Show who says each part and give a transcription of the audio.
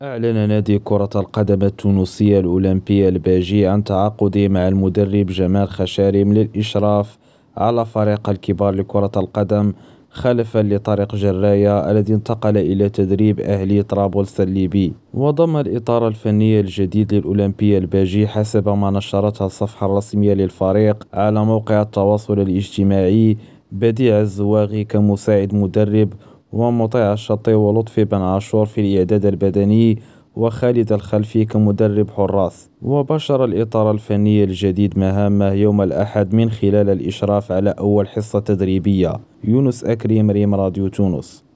Speaker 1: أعلن نادي كرة القدم التونسي الأولمبي الباجي عن تعاقده مع المدرب جمال خشارم للإشراف على فريق الكبار لكرة القدم، خلفا لطارق جراية الذي انتقل إلى تدريب أهلي طرابلس الليبي. وضم الإطار الفني الجديد للأولمبي الباجي حسب ما نشرتها الصفحة الرسمية للفريق على موقع التواصل الاجتماعي بديع الزواغي كمساعد مدرب، ومطيع الشطي ولطفي بن عاشور في الإعداد البدني، وخالد الخلفي كمدرب حراس. وبشر الإطار الفني الجديد مهامه يوم الأحد من خلال الإشراف على أول حصة تدريبية. يونس أكريم، ريم راديو تونس.